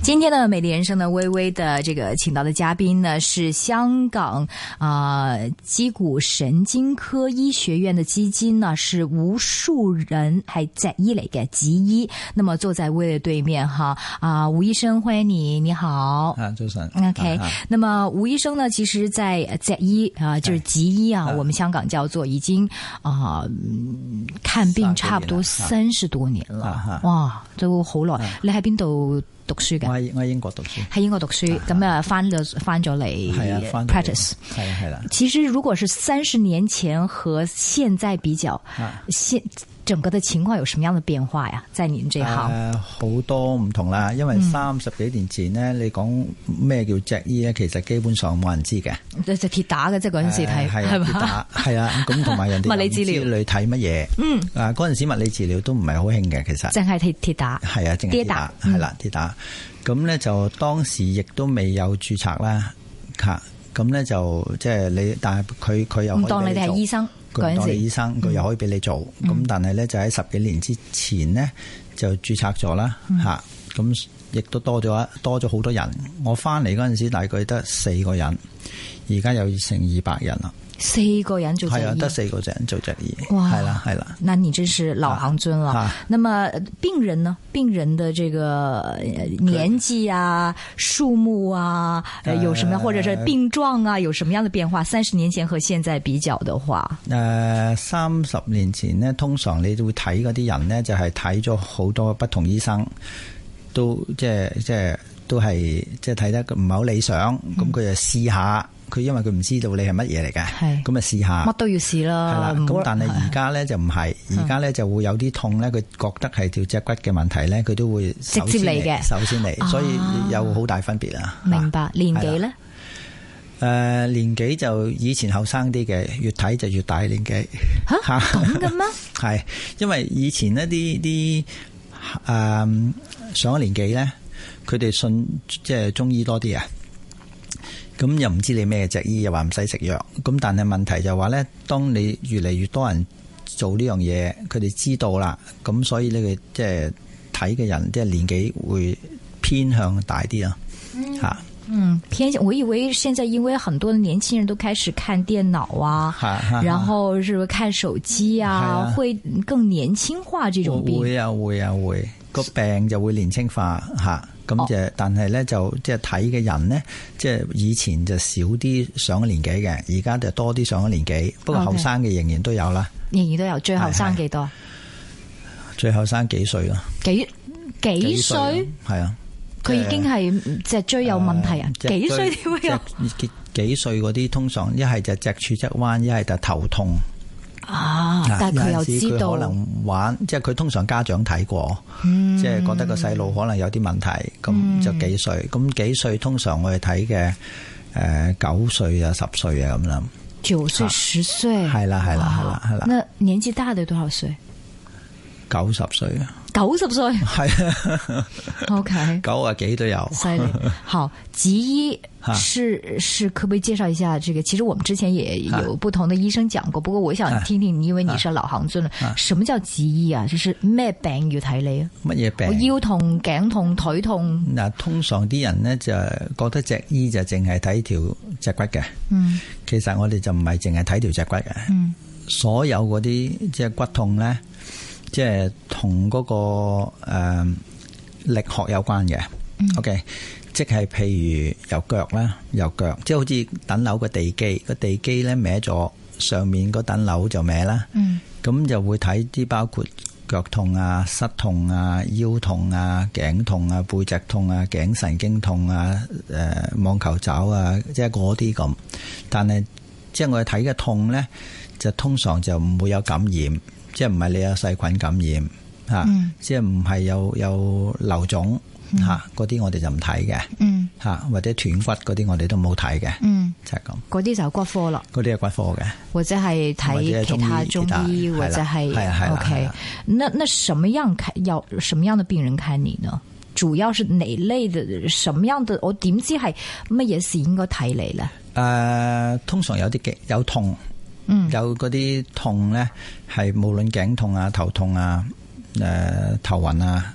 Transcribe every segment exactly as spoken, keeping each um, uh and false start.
今天的美麗人生呢，微微的這個請到的嘉賓呢，是香港啊脊骨神經科醫學院的基金呢，是吳樹人，係脊醫嚟嘅脊醫。那麼坐在微微對面哈啊，吳醫生歡迎你，你好。 啊，早晨。 OK，啊、那麼吳醫生呢，其實在脊醫啊，就是脊醫啊，我們香港叫做已經啊看病差不多三十多年了，哇，都好耐。你喺邊度讀書嘅？ 我喺我喺英國讀書， 喺英國讀書，咁啊翻咗翻咗嚟 practice， 係啊係啦。 其實如果是三十年前和現在比較，現整個的情況有什麼樣的變化呀？在您這行， 誒好多唔同啦，因為三十幾年前呢，你講咩叫脊醫咧，其實基本上冇人知嘅， 就就鐵打嘅，即係嗰陣時睇係嘛？鐵打係啊，咁同埋人哋物理治療你睇乜嘢？嗯，啊嗰陣時物理治療都唔係好興嘅，其實淨係鐵鐵打， 係啊，淨係鐵打係啦，鐵打。咁咧就當時亦都未有註冊啦，嚇咁咧就即係你，但係佢佢又唔當你哋係醫生。佢當你醫生，佢又可以俾你做，咁、嗯、但係咧就喺十幾年之前呢，就註冊咗啦，吓咁亦都多咗多咗好多人。我翻嚟嗰陣時大概得四個人，而家有成二百人啦。四個人做脊醫，係啊，得四個人做脊醫，係啦係啦。 那你真是老行尊了。啊、那麼病人呢？病人的這個年紀啊、數目啊，呃、有什麼，或者是病狀啊，有什麼樣的變化？三十年前和現在比較的話， 誒、呃，三十年前呢，通常你會睇嗰啲人呢，就係睇咗好多不同醫生，都即係即係都係即係睇得唔係好理想，咁佢、嗯、就試下。佢因為佢唔知道你係乜嘢嚟嘅，咁啊試下， 乜都要試啦。係啦， 咁但係而家咧就唔係，而家咧就會有啲痛咧，佢覺得係條脊骨嘅問題咧，佢都會直接嚟嘅，首先嚟，所以有好大分別啊。 明白。年紀咧？ 誒，年紀就以前後生啲嘅，越睇就越大年紀。 吓咁嘅咩？ 係，因為以前呢啲啲誒上咗年紀咧，佢哋信即係中醫多啲啊。咁又唔知你咩脊醫，又話唔使食藥。咁但係問題就話咧，當你越嚟越多人做呢樣嘢，佢哋知道啦，咁所以呢個即係睇嘅人，即係年紀會偏向大啲啊。吓， 嗯，偏向。我以為現在因為很多的年輕人都開始看電腦啊，然後是看手機啊，啊會更年輕化這種病。會啊會啊會，個病就會年輕化吓。咁就，哦、但係咧就即係睇嘅人呢，即係以前就少啲上咗年紀嘅，而家就多啲上咗年紀。不過後生嘅仍然都有啦， 仍然都有。最後生幾多？ 最後生幾歲咯？ 幾幾歲？係啊，佢已經係脊椎有問題啊！幾歲點會有？ 幾幾歲嗰啲通常一係就脊柱側彎，一係就頭痛。 啊！但係佢又知道， 可能玩，即係佢通常家長睇過，嗯、即係覺得個細路可能有啲問題，咁、嗯、就幾歲？咁幾歲通常我哋睇嘅誒九歲啊、十歲啊咁啦。 九歲、十歲， 係啦，係啦，係啦，係啦。 那年紀大的多少歲？ 九十歲啊！ 九十歲係啊 ，OK， 九啊幾都有， 犀利。好，脊醫是是可不可以介紹一下？這個其實我們之前也有不同的醫生講過，不過我想聽聽，因為你是老行尊啦，什麼叫脊醫啊？就是咩病要睇你啊？ 乜嘢病？ 我腰痛、頸痛、腿痛。嗱， 通常啲人呢就覺得脊醫就淨係睇條脊骨嘅，嗯，其實我哋就唔係淨係睇條脊骨嘅，嗯，所有嗰啲即係骨痛咧。即係同嗰個誒、呃、力學有關嘅、嗯、，OK， 即係譬如由腳啦，由腳，即係好似等樓個地基，個地基咧歪咗，上面嗰等樓就歪啦，咁、嗯、就會睇啲包括腳痛啊、膝痛啊、腰痛啊、頸痛啊、背脊痛啊、頸神經痛啊、誒、呃、網球肘啊，即係嗰啲咁。但係即係我哋睇嘅痛咧，就通常就唔會有感染。即係唔係你有細菌感染吓，嗯、即係唔係有有瘤腫吓，嗰啲、嗯、我哋就唔睇嘅吓，或者斷骨嗰啲我哋都冇睇嘅，嗯、就係咁。 嗰啲就係骨科啦， 嗰啲係骨科嘅， 或者係睇其他中醫，或者係係係 OK。那那什麼樣看要什麼樣的病人看你呢？主要是哪類的？什麼樣的？我點知係乜嘢事應該睇你咧？誒、 呃，通常有啲嘅有痛。嗯、有嗰啲痛咧，係無論頸痛啊、頭痛啊、誒、呃、頭暈啊，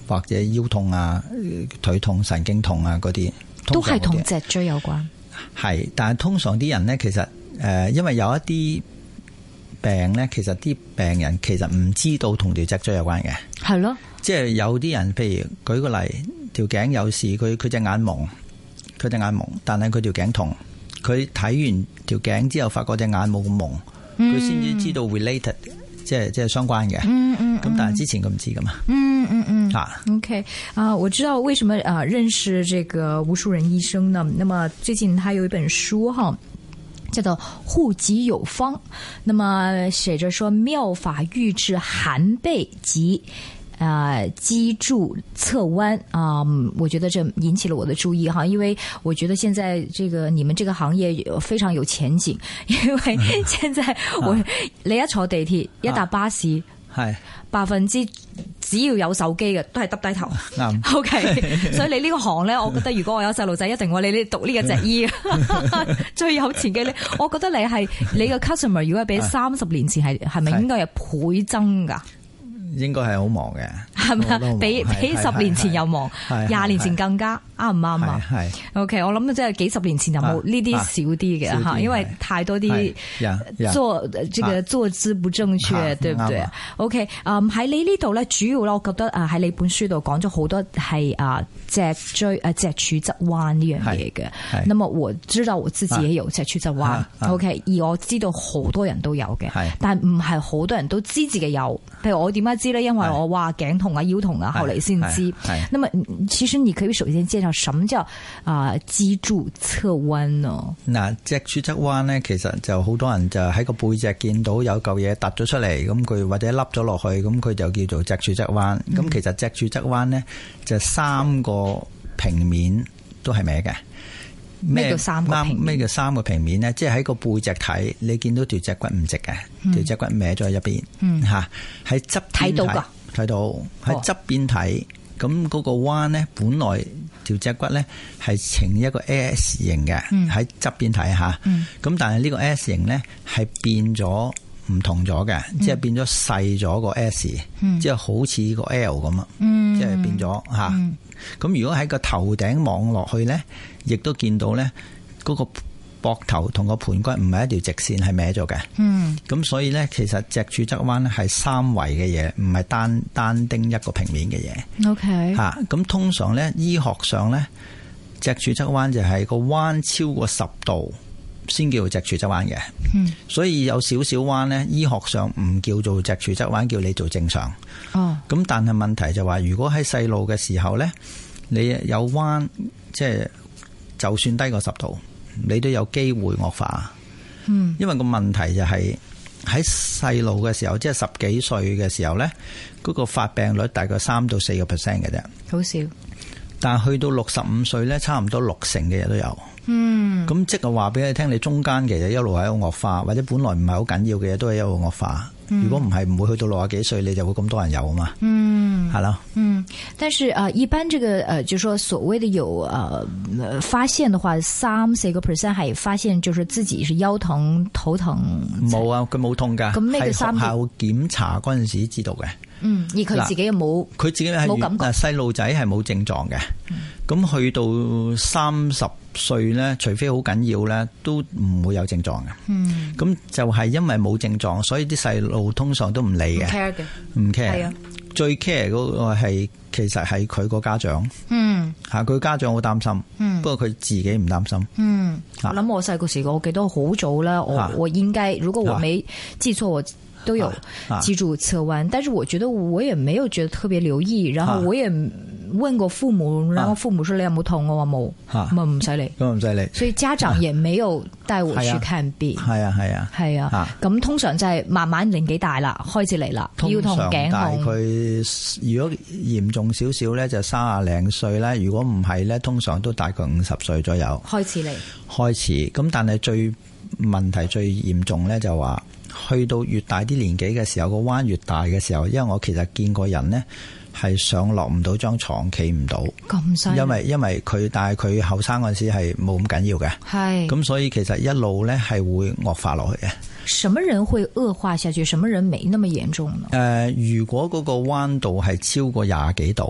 或者腰痛啊、腿痛、神經痛啊嗰啲， 都係同脊椎有關。 係，但係通常啲人呢，其實誒、呃，因為有一啲病呢，其實啲病人其實唔知道同條脊椎有關嘅。係咯，即係有啲人，譬如舉個例，條頸有事，佢佢隻眼蒙，佢隻眼蒙，但係佢條頸痛，佢睇完條頸之後，發覺隻眼冇咁蒙，佢先至知道 related。即係即係相關嘅，嗯嗯，咁但係之前佢唔知噶嘛， 嗯嗯嗯，啊 ，OK 啊，我知道為什麼啊認識這個吳樹人醫生呢？那麼最近他有一本書哈，叫做護脊有方，那麼寫着說妙法預治寒背及。呃，脊柱側彎啊、呃，我覺得這引起了我的注意哈，因為我覺得現在這個你們這個行業非常有前景，因為現在我、啊、你一坐地鐵、啊、一搭巴士，係百分之只要有手機嘅都係耷低頭。啱，OK，所以你呢個行咧，我覺得如果我有細路仔，一定我你呢讀呢個脊醫最有前景。你，我覺得你係你嘅 customer， 如果係比三十年前係係咪應該係倍增噶？應該係好忙嘅，係咪啊？比比十年前又忙，廿年前更加啱唔啱啊？係 OK， 我諗即係幾十年前就冇呢啲少啲嘅吓，因為太多啲坐這個坐姿不正確，對唔對啊 ？OK， 嗯喺你呢度咧，主要咧，我覺得啊喺你本書度講咗好多係啊脊椎啊脊柱側彎呢樣嘢嘅。那麼我知道我自己也有脊柱側彎 ，OK， 而我知道好多人都有嘅，但唔係好多人都知自己有。譬如我點解知咧？因為我話頸痛啊、腰痛啊，後嚟先知。那麼其實你可以首先介紹什麼叫啊脊柱側彎呢？嗱，脊柱側彎咧，其實就好多人就喺個背脊見到有嚿嘢凸咗出嚟，咁佢或者凹咗落去，咁佢就叫做脊柱側彎。咁、嗯、其實脊柱側彎咧，就三個平面都係歪嘅。咩叫三個平面？咩叫三個平面咧？即係喺個背脊睇，你見到條脊骨唔直嘅，條脊骨歪咗喺一邊，吓喺側邊睇到噶，睇到喺側邊睇，咁嗰個彎咧，本來條脊骨咧係呈一個 S 型嘅，喺側邊睇吓，咁、嗯、但係呢個 S 型咧係變咗唔同咗嘅、嗯，即係變咗細咗個 S，、嗯、即係好似個 L 咁啊，即係變咗吓。咁、嗯、如果喺個頭頂望落去咧，亦都見到咧嗰個膊頭同個盤骨唔係一條直線，係歪咗嘅。嗯，咁所以咧，其實脊柱側彎咧係三維嘅嘢，唔係單單丁一個平面嘅嘢。OK， 吓咁通常咧醫學上咧脊柱側彎就係個彎超過十度先叫脊柱側彎嘅。嗯，所以有少少彎咧，醫學上唔叫做脊柱側彎，叫你做正常。哦，咁但係問題就話，如果喺細路嘅時候咧，你有彎，即係就算低過十度，你都有機會惡化。嗯，因為個問題就係喺細路嘅時候，即係十幾歲嘅時候咧，嗰個發病率大概三到四個 percent 嘅啫，好少。但係去到六十五歲咧，差唔多六成嘅嘢都有。嗯，咁即係話俾你聽，你中間其實一路喺度惡化，或者本來唔係好緊要嘅嘢都係一路惡化。嗯、如果唔係，唔會去到六十幾歲，你就會咁多人有啊嘛。嗯，係咯。嗯，但是啊、呃，一般這個呃，就是說所謂的有呃發現的話，三四個 percent 係發現，就是自己是腰疼、頭疼。冇啊，佢冇痛噶。咁呢個三係學校檢查嗰陣時知道嘅。嗯，而佢自己又冇，佢自己係冇感覺。細路仔係冇症狀嘅。咁、嗯、去到三十歲咧，除非好緊要咧，都唔會有症狀嘅。嗯，咁就係因為冇症狀，所以啲細路通常都唔理嘅，唔 care 嘅，唔 care。係啊，最 care 嗰個係其實係佢個家長。嗯，吓佢家長好擔心。嗯，不過佢自己唔擔心。嗯，我諗我細個時，我記得好早啦。我、啊、我應該如果我沒記錯，我都有脊柱側彎、啊，但是我覺得我也沒有覺得特別留意，然後我也問過父母，然後父母說你有冇痛，我話冇，咁啊唔使理，咁唔使理，所以家長也沒有帶我去看病。係啊係啊係啊，咁通常就係慢慢年紀大啦，開始嚟啦，腰痛頸痛。大概如果嚴重少少咧，就三廿零歲啦；如果唔係咧，通常都大概五十歲左右開始嚟。開始咁，但係最問題最嚴重咧就話。去到越大啲年紀嘅時候，個彎越大嘅時候，因為我其實見過人呢係上落唔到張床，企唔到，咁犀利。因為因為佢，但係佢後生嗰陣時係冇咁緊要嘅，係咁，所以其實一路呢係會惡化落去嘅。什麼人會惡化下去？什麼人沒那麼嚴重呢？誒、呃，如果嗰個彎度係超過廿幾度，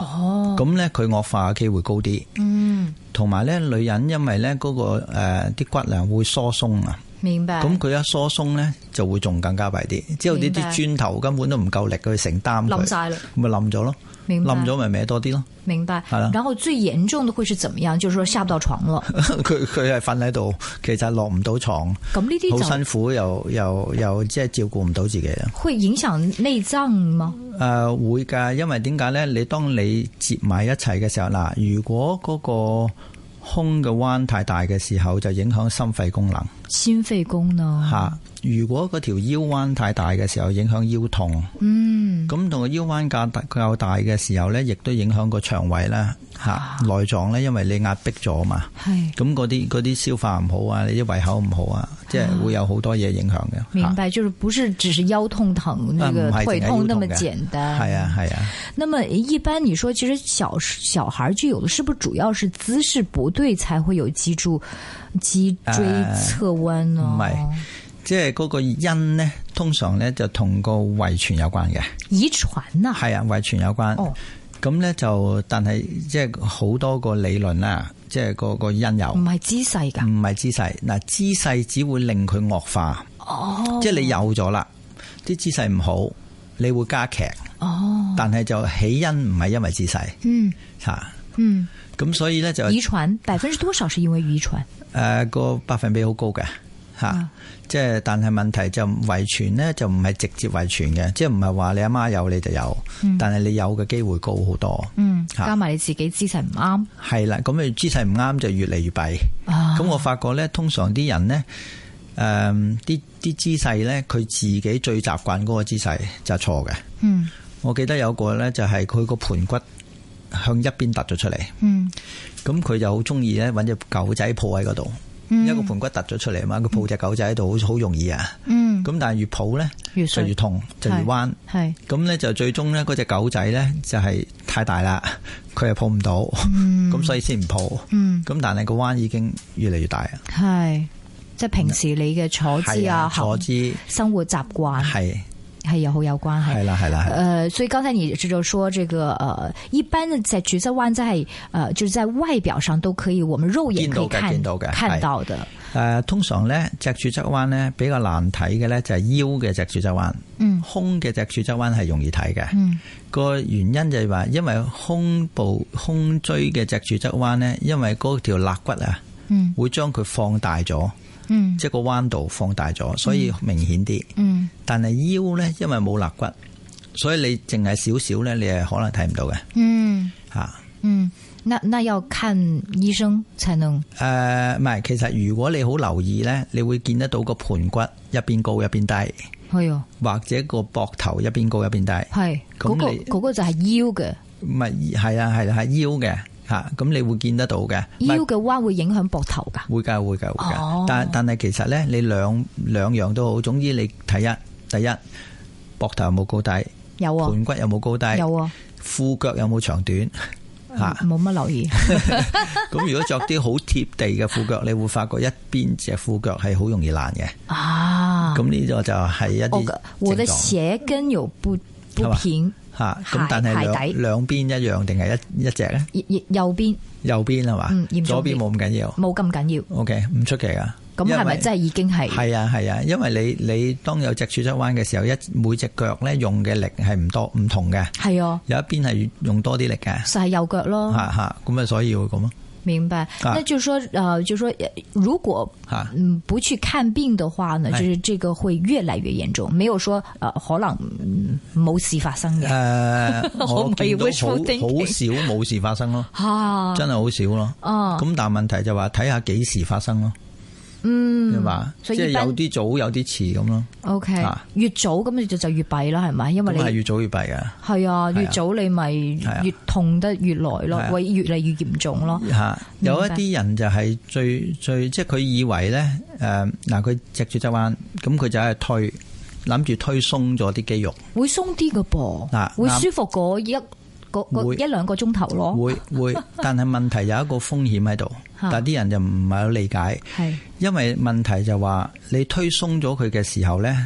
哦， 咁咧佢惡化嘅機會高啲。 嗯， 同埋咧女人因為咧嗰個誒啲骨啊會疏鬆啊。 明白。 咁佢一疏鬆咧，就會仲更加弊啲。之後呢啲磚頭根本都唔夠力去承擔佢， 冧晒啦， 咪冧咗咯。冧咗咪歪多啲咯。 明白。 係啦。 然後最嚴重的會是怎麼樣？就是說下不到床咯。 佢佢係瞓喺度，其實落唔到床。 咁呢啲好辛苦，又又又即係照顧唔到自己啊。會影響內臟嗎？ 誒、呃，會㗎，因為點解咧？你當你接埋一齊嘅時候，嗱，如果嗰個胸嘅彎太大嘅時候，就影響心肺功能。 心肺功能吓，如果嗰條腰彎太大嘅時候，影響腰痛。嗯，咁同個腰彎較大較大嘅時候咧，亦都影響個腸胃啦，吓內臟咧，因為你壓迫咗嘛。係，咁嗰啲嗰啲消化唔好啊，你啲胃口唔好啊，即係會有好多嘢影響嘅。 明白，就是不是只是腰痛疼，那個腿痛那麼簡單。係啊係啊。 那麼一般你說，其實小小孩就有的，是不是主要是姿勢不對才會有脊柱、脊椎側彎呢？ 唔係。即係嗰個因呢，通常呢就同個遺傳有關嘅。 遺傳啊？係啊，遺傳有關。哦，咁呢就，但係即係好多個理論啦，即係個個因由。唔係姿勢噶？唔係姿勢。嗱，姿勢只會令佢惡化。哦。即係你有咗啦，啲姿勢唔好，你會加劇。哦。但係就起因唔係因為姿勢。嗯。吓。嗯。咁所以呢，就遺傳百分之多少是因為遺傳？誒、 呃，個百分比好高嘅。吓、啊，即係但係問題就遺傳咧，就唔係直接遺傳嘅，即係唔係話你阿媽有你就有，嗯、但係你有嘅機會高好多。嗯， 加埋你自己姿勢唔啱， 係啦，咁你姿勢唔啱就越嚟越弊。咁、啊、我發覺咧，通常啲人咧，誒、呃，啲啲姿勢咧，佢自己最習慣嗰個姿勢就係錯嘅。嗯，我記得有個咧就係佢個盆骨向一邊突咗出嚟。嗯，咁佢就好中意咧搵隻狗仔抱喺嗰度。一個盆骨突咗出嚟嘛，佢抱隻狗仔喺度，好好容易啊。嗯，咁但係越抱咧，就越痛，就越彎。係，咁咧就最終咧，嗰隻狗仔咧就係太大啦，佢又抱唔到，咁、嗯、所以先唔抱。嗯，咁但係個彎已經越嚟越大啊。係，即係平時你嘅坐姿啊，坐姿、生活習慣係。係有好有關係，係啦係啦。誒、呃，所以剛才你就說，這個誒、呃，一般嘅脊柱側彎，在誒，就是在外表上都可以，我們肉眼可以看見到嘅，看到嘅。誒、 呃，通常咧脊柱側彎咧比較難睇嘅咧就係腰嘅脊柱側彎，嗯，胸嘅脊柱側彎係容易睇嘅，嗯，個原因就係話，因為胸部胸椎嘅脊柱側彎咧，因為嗰條肋骨啊，嗯，會將佢放大咗。嗯，即係個彎度放大咗，所以明顯啲。嗯，但係腰咧，因為冇肋骨，所以你淨係少少咧，你係可能睇唔到嘅。嗯，吓，嗯，那那要看醫生才能。誒、呃，唔係，其實如果你好留意咧，你會見得到個盆骨一邊高一邊低。係啊，或者個膊頭一邊高一邊低。係，嗰、那個嗰、那個就係腰嘅。唔係，係啊，係係腰嘅。吓，咁你會見得到嘅，腰嘅彎會影響膊頭噶，會噶會噶會噶、哦。但但係其實咧，你兩兩樣都好，總之你睇一，第一膊頭有冇高低，有啊，盆骨有冇高低，有啊，褲腳有冇長短，吓，冇乜留意。咁如果着啲好貼地嘅褲腳，你會發覺一邊隻褲腳係好容易爛嘅。啊，咁呢個就係一啲症狀。我的鞋跟有不不平。吓，咁但係兩兩邊一樣定係一一隻咧？右邊，右邊係嘛？嗯，左邊冇咁緊要，冇咁緊要。O K，唔出奇啊。咁係咪真係已經係？係啊係啊，因為你你當有脊柱側彎嘅時候，一每隻腳咧用嘅力係唔多唔同嘅。係啊，有一邊係用多啲力嘅，就係右腳咯。吓吓，咁啊，所以會咁咯。明白，那就是說，呃，就是說，如果嗯不去看病的話呢，就是這個會越來越嚴重，沒有說，呃，可能冇事發生嘅。誒、呃，我見到好好少冇事發生咯，吓，真係好少咯。哦，咁但係問題就話睇下幾時發生咯。嗯，係嘛，即係有啲早有啲遲咁咯。O K，越早咁你就就越弊啦，係咪？因為你係越早越弊嘅。係啊，越早你咪越痛得越耐咯，會越嚟越嚴重咯。吓，有一啲人就係最最即係佢以為咧，誒嗱佢脊柱側彎，咁佢就係推諗住推鬆咗啲肌肉，會鬆啲㗎噃，嗱會舒服過一個個一兩個鐘頭咯。會會，但係問題有一個風險喺度。但係啲人就唔係好理解，係因為問題就話你推鬆咗佢嘅時候咧，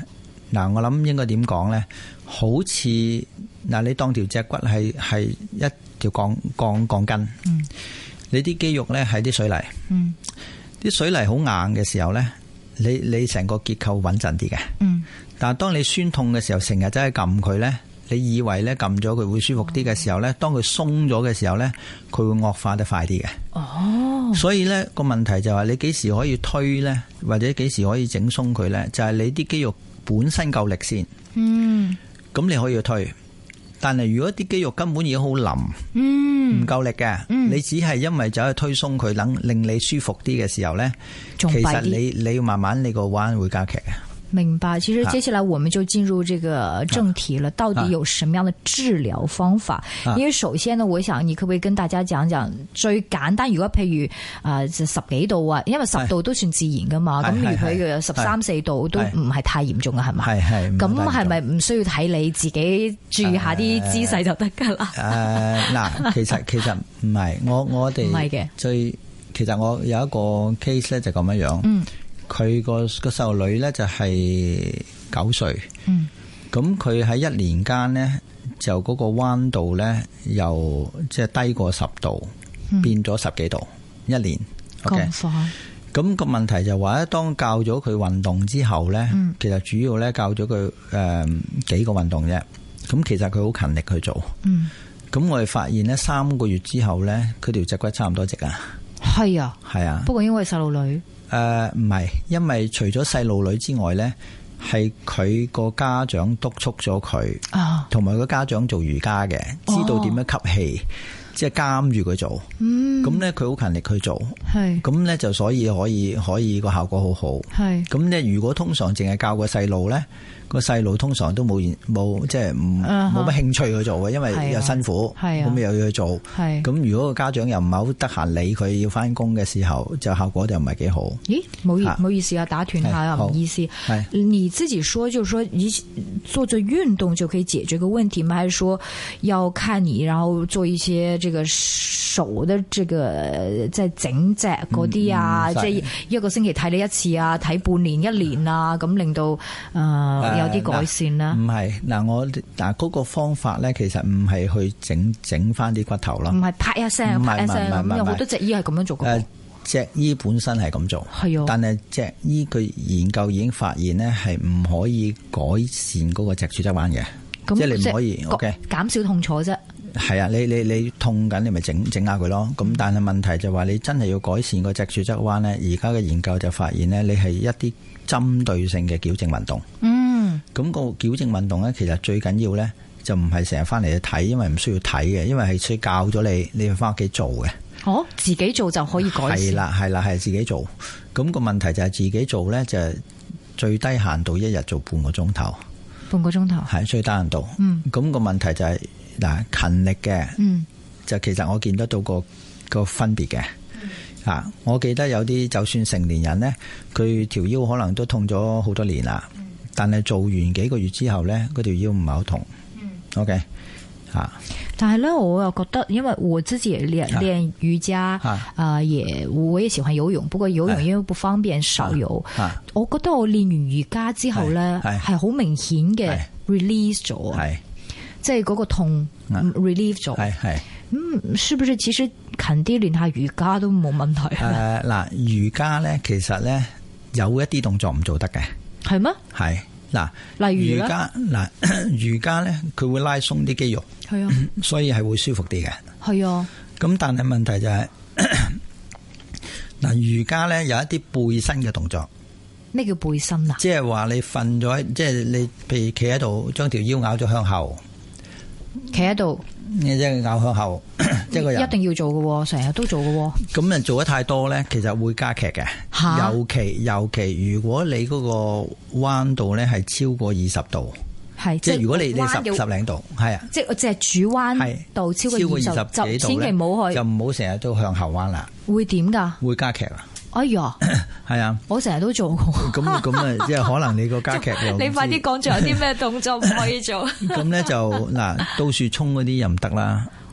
嗱，我諗應該點講咧？好似嗱，你當條脊骨係係一條鋼鋼鋼筋，嗯、你啲肌肉咧係啲水泥，啲、嗯、水泥好硬嘅時候咧，你你成個結構穩陣啲嘅。嗯、但係當你酸痛嘅時候，成日真係撳佢咧，你以為咧撳咗佢會舒服啲嘅時候咧，當佢鬆咗嘅時候咧，佢會惡化得快啲嘅。哦，所以咧個問題就係你幾時可以推咧，或者幾時可以整鬆佢咧？就係、是、你啲肌肉本身夠力先。嗯，咁你可以去推。但係如果啲肌肉根本已經好腍，嗯，唔夠力嘅，嗯、你只係因為走去推鬆佢，能令你舒服啲嘅時候咧，其實你你要慢慢你個彎會加劇嘅。 明白，其實接下來我們就進入這個正題了。到底有什麼樣的治療方法？因為首先呢，我想你可唔可以跟大家講講最簡單？如果譬如啊十幾度啊，因為十度都算自然噶嘛。咁如果佢十三四度都唔係太嚴重嘅，係咪？係係。咁係咪唔需要睇你自己注意下啲姿勢就得噶啦？誒，嗱，其實其實唔係，我我哋唔係嘅。 最其實我有一個 case 咧就咁樣樣。嗯。佢個個細路女咧就係九歲，咁佢喺一年間呢，就嗰個彎度咧由即係低過十度，嗯、變咗十幾度一年。咁快？咁個問題就話咧，當教咗佢運動之後咧，嗯、其實主要咧教咗佢誒幾個運動啫。咁其實佢好勤力去做。咁、嗯、我哋發現咧三個月之後咧，佢條脊骨差唔多直啊。 係啊， 係啊。 不過因為細路女。 誒，唔係，因為除咗細路女之外呢，係佢個家長督促咗佢，同埋個家長做瑜伽嘅，知道點樣吸氣，哦、即係監住佢做。咁呢、嗯，佢好勤力去做，咁呢是，就所以可以可以個效果好好。咁呢是，如果通常淨係教個細路呢，個細路通常都冇冇即係唔冇乜興趣去做嘅，因為又辛苦，咁、啊、又要去做。咁、啊、如果個家長又唔係好得閒理佢要翻工嘅時候，就效果就唔係幾好。咦，冇意唔好意思啊，打斷下啊，唔好意思。你自己說，就是說你做做運動就可以解決個問題嗎？還是說要看你，然後做一些這個手的這個即係整隻嗰啲啊，即係、嗯、一個星期睇你一次啊，睇半年一年啊，咁令到誒。呃有啲改善啦，唔係嗱，我嗱嗰個方法咧，其實唔係去整整翻啲骨頭咯，唔係拍一聲，拍一聲咁，有好多脊醫係咁樣做嘅。誒，脊醫本身係咁做，係啊，但係脊醫佢研究已經發現咧，係唔可以改善嗰個脊柱側彎嘅，即係你唔可以 OK 減少痛楚啫。係啊，你你你痛緊，你咪整整下佢咯。咁但係問題就話你真係要改善個脊柱側彎咧，而家嘅研究就發現咧，你係一啲針對性嘅矯正運動。嗯。咁個矯正運動咧，其實最緊要咧就唔係成日翻嚟去睇，因為唔需要睇嘅，因為係需要教咗你，你要翻屋企做嘅。哦，自己做就可以改善。係啦，係啦，係自己做。咁個問題就係自己做咧，就係最低限度一日做半個鐘頭。半個鐘頭係最低限度。嗯。咁個問題就係嗱勤力嘅，嗯，就其實我見得到個個分別嘅。啊，我記得有啲就算成年人咧，佢條腰可能都痛咗好多年啦。但係做完幾個月之後咧，嗰條腰唔係好痛。嗯，OK，吓。但係咧，我又覺得，因為我自己也練練瑜伽，啊、呃，也我也喜歡游泳，不過游泳因為不方便少游。啊、我覺得我練完瑜伽之後咧，係好明顯嘅 release 咗，係即係嗰個痛 relieve 咗。係係，咁是不是其實勤啲練下瑜伽都冇問題？誒、呃，嗱，瑜伽咧，其實咧有一啲動作唔做得嘅。係咩？係嗱，例如瑜伽嗱，瑜伽咧佢會拉鬆啲肌肉，係啊，所以係會舒服啲嘅。係啊，咁但係問題就係嗱，瑜伽咧有一啲背身嘅動作。咩叫背身啊？即係話你瞓咗，即係你譬如企喺度，將條腰咬咗向後，企喺度。你即係咬向後，即係個人一定要做嘅，成日都做嘅。咁啊，做得太多咧，其實會加劇嘅。尤其尤其，如果你嗰個彎度咧係超過二十度，係即係如果你你十十零度，係啊，即係只係主彎度超過二十幾度，千祈唔好去，就唔好成日都向後彎啦。會點噶？會加劇啊！哎呀，係啊，我成日都做過。咁咁啊，即係可能你個加劇又你快啲講，仲有啲咩動作唔可以做？咁咧就嗱，倒豎蔥嗰啲又唔得啦。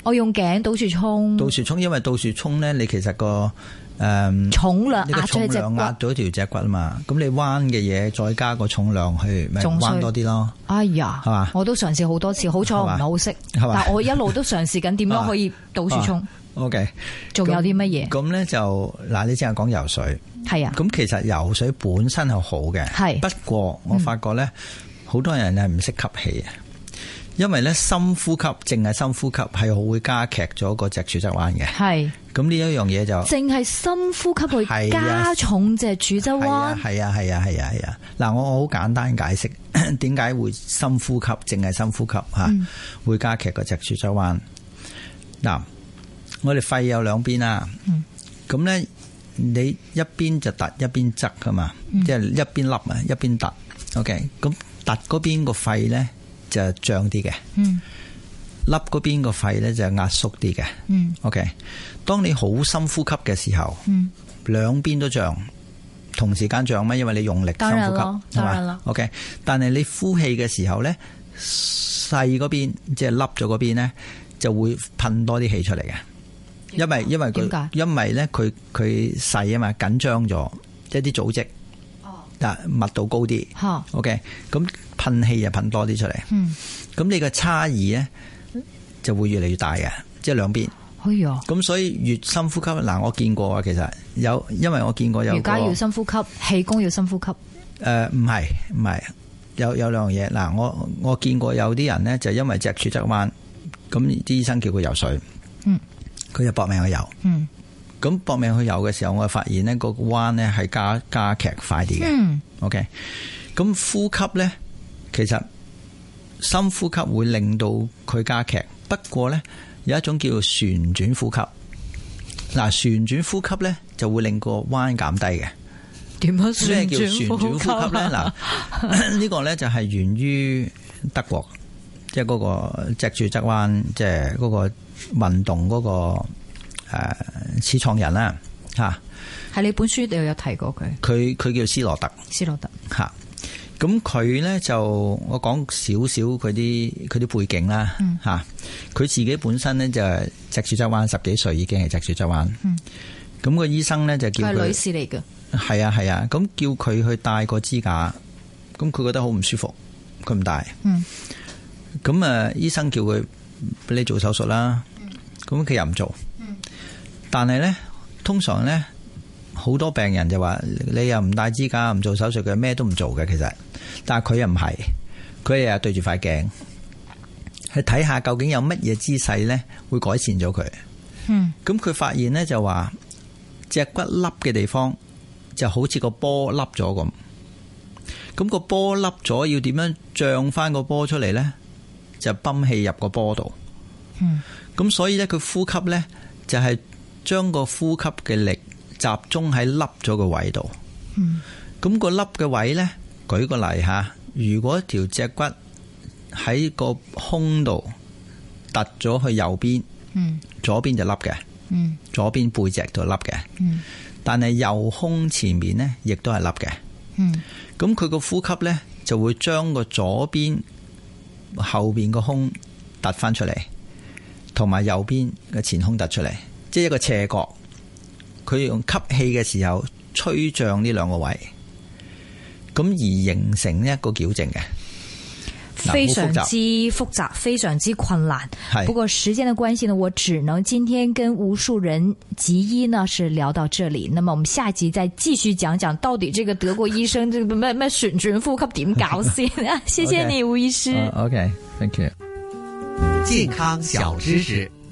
我用頸倒豎衝， 倒豎衝，因為倒豎衝咧，你其實個誒、嗯、 重量壓咗隻骨，壓咗條脊骨啊嘛。咁你彎嘅嘢再加個重量去，咪彎多啲咯。哎呀，係嘛？我都嘗試好多次，好彩我唔係好識，但我一路都嘗試緊點樣可以倒豎衝。O K， 仲有啲乜嘢？咁咧就嗱，你淨係講游水，係啊。咁其實游水本身係好嘅，係。不過我發覺咧，好、嗯、多人係唔識吸氣啊。因為咧深呼吸，淨係深呼吸係好會加劇咗個脊柱側彎嘅。係，咁呢一樣嘢就淨係深呼吸去加重脊柱側彎。係啊係啊係啊係啊！嗱，我好簡單解釋點解會深呼吸，淨係深呼吸吓、嗯、會加劇個脊柱側彎。嗱，我哋肺有兩邊啦，咁、嗯、咧你一邊就凸，一邊側噶嘛，嗯、即係一邊凹啊，一邊凸。OK， 咁凸嗰邊個肺咧就脹啲嘅，嗯，凹嗰邊個肺咧就壓縮啲嘅，嗯 ，OK。當你好深呼吸嘅時候，嗯，兩邊都脹，同時間脹咩？因為你用力深呼吸，係嘛 ？OK。但係你呼氣嘅時候咧，細嗰邊即係凹咗嗰邊咧，就會噴多啲氣出嚟嘅，因為因為佢因為咧佢佢細啊嘛，緊張咗一啲組織。密度高啲 ，OK， 咁噴氣就噴多啲出嚟，咁、嗯、你個差異咧就會越嚟越大嘅，即係兩邊。哎呀，咁所以越深呼吸，嗱我見過啊，其實有，因為我見過有瑜伽要深呼吸，氣功要深呼吸。誒、呃，唔係唔係，有有兩樣嘢。嗱，我我見過有啲人咧就因為脊柱側彎，咁啲醫生叫佢游水，嗯，佢就搏命去游，嗯。咁搏命去游嘅時候，我發現呢個彎呢係加加劇快啲嘅。嗯、OK， 咁呼吸呢，其實深呼吸會令到佢加劇。不過呢，有一種叫做旋轉呼吸。嗱，旋轉呼吸呢就會令個彎減低嘅。點樣旋轉呼吸？咩叫旋轉呼吸呢？嗱，呢個呢就係源於德國，即係嗰個脊柱側彎，即係嗰個運動嗰、嗰個。誒，始創人啦，吓，喺你本書度有提過佢。佢佢叫斯羅特，斯羅特吓。咁佢咧就我講少少佢啲佢啲背景啦，吓、嗯。佢自己本身咧就係脊柱側彎，十幾歲已經係脊柱側彎。嗯。咁個醫生咧就叫佢係女士嚟嘅。係啊係啊，咁叫佢去戴個支架，咁佢覺得好唔舒服，佢唔戴。嗯。咁啊，醫生叫佢俾你做手術啦，咁佢又唔做。但係咧，通常咧，好多病人就話你又唔戴支架，唔做手術嘅，咩都唔做嘅。其實，但係佢又唔係，佢日日對住塊鏡，去睇下究竟有乜嘢姿勢咧會改善咗佢。嗯，咁佢發現咧就話，脊骨凹嘅地方就好似個波凹咗咁。咁個波凹咗，要點樣脹翻個波出嚟咧？就泵氣入個波度。嗯，咁所以咧，佢呼吸咧就係、是。將個呼吸嘅力集中喺凹咗個位度，嗯，咁個凹嘅位呢，舉個例吓，如果條脊骨喺個胸度突咗去右邊，嗯，左邊就凹嘅，嗯，左邊背脊度凹嘅，嗯，但係右胸前面呢，亦都係凹嘅，嗯，咁佢個呼吸呢，就會將個左邊後邊個胸突翻出嚟，同埋右邊嘅前胸突出嚟。即係一個斜角，佢用吸氣嘅時候吹脹呢兩個位，咁而形成一個矯正嘅，非常之複雜，非常之困難。不過時間的關係呢，我只能今天跟吳樹人脊醫呢是聊到這裡。那麼我們下集再繼續講講到底這個德國醫生這個咩咩旋轉呼吸點搞先。謝謝你，吳醫師。OK，thank you。健康小知識。